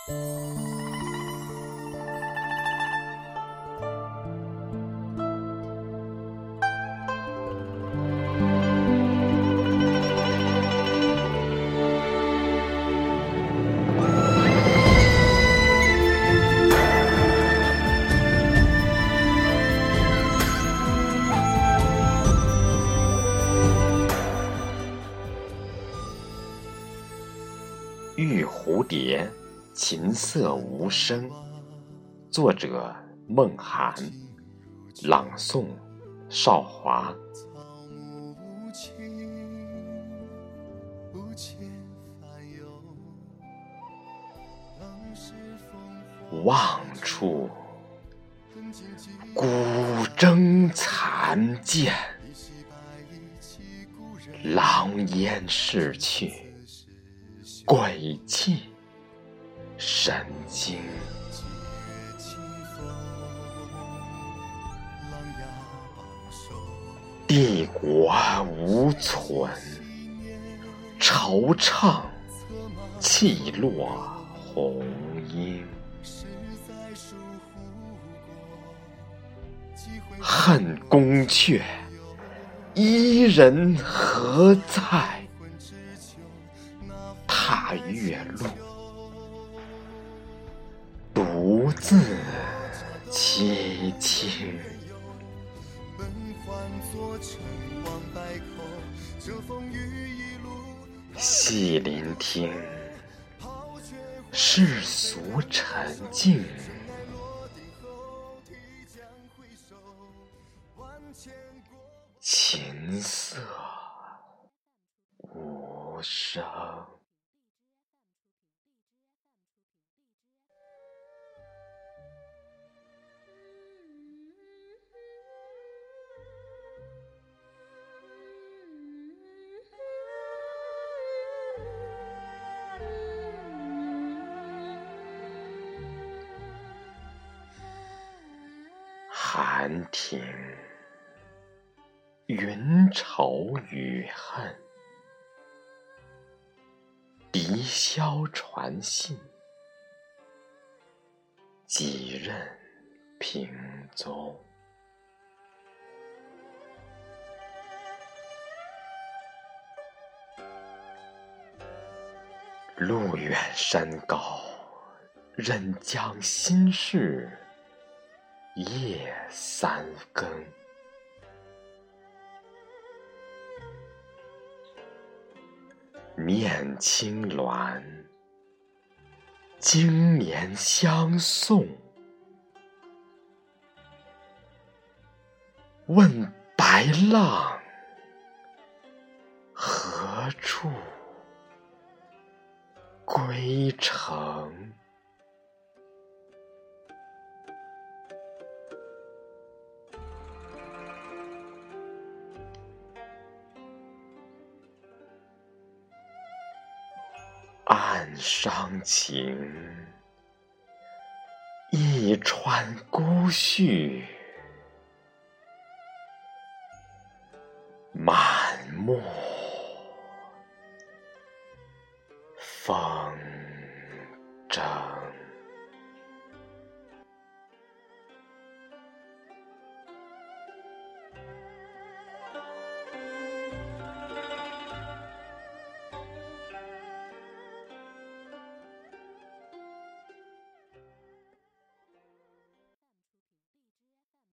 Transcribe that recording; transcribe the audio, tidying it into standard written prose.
玉蝴蝶，琴瑟无声。作者：孟涵，朗诵：少华。望处古筝残见，狼烟逝去，鬼气神经。帝国无存，惆怅泣落红缨。恨宫阙，伊人何在？踏月路，独自凄清。细聆听世俗沉静，琴瑟无声。寒亭，云愁雨恨，笛箫传信，几任平踪。路远山高，任将心事夜三更。念青鸾，经年相送。问白浪，何处归程？暗伤情，一川孤絮，满目风筝。